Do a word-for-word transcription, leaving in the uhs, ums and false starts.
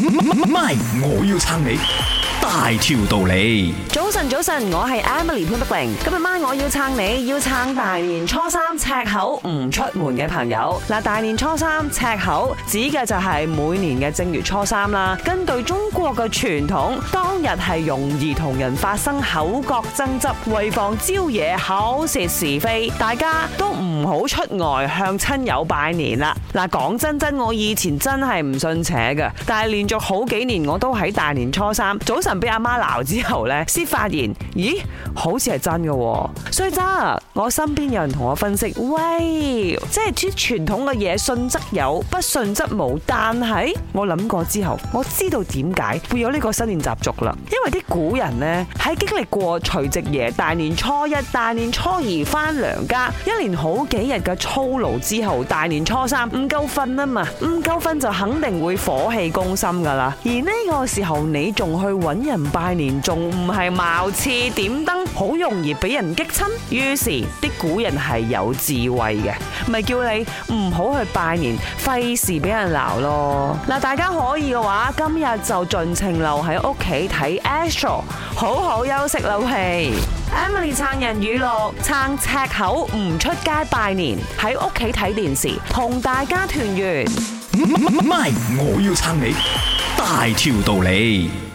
咪，我要撐你大條道理。 早晨，早晨，我係 Emily 潘德玲。今日晚我要撐你，要撐大年初三赤口唔出門嘅朋友。嗱，大年初三赤口指嘅就係每年嘅正月初三啦。根據中國嘅傳統，當日係容易同人發生口角爭執，為防招惹口舌是非，大家都唔好出外向親友拜年啦。嗱，講真真，我以前真係唔信邪嘅，但係連續好幾年我都喺大年初三早晨俾阿媽鬧之後呢，先發現，咦，好似係真嘅。所以真，我身邊有人同我分析，喂，即係啲傳統嘅嘢，信則有，不信則無。但係我諗過之後，我知道點解會有呢個新年習俗啦。因為啲古人呢，喺經歷過除夕夜、大年初一、大年初二翻娘家，一連好幾日嘅操勞之後，大年初三唔夠瞓啊嘛，唔夠瞓就肯定會火氣攻心噶啦。而呢個時候你仲去揾人拜年，仲唔係貌似點燈，好容易俾人激親。於是啲古人係有智慧嘅，咪叫你唔好去拜年，費事俾人鬧咯。嗱，大家可以嘅話，今日就盡情留喺屋企睇 Astro， 好好休息啦。喂 Emily 撐人語錄，撐赤口唔出街拜年，喺屋企睇電視，同大家團圓。 咪，我要撐你大條道理。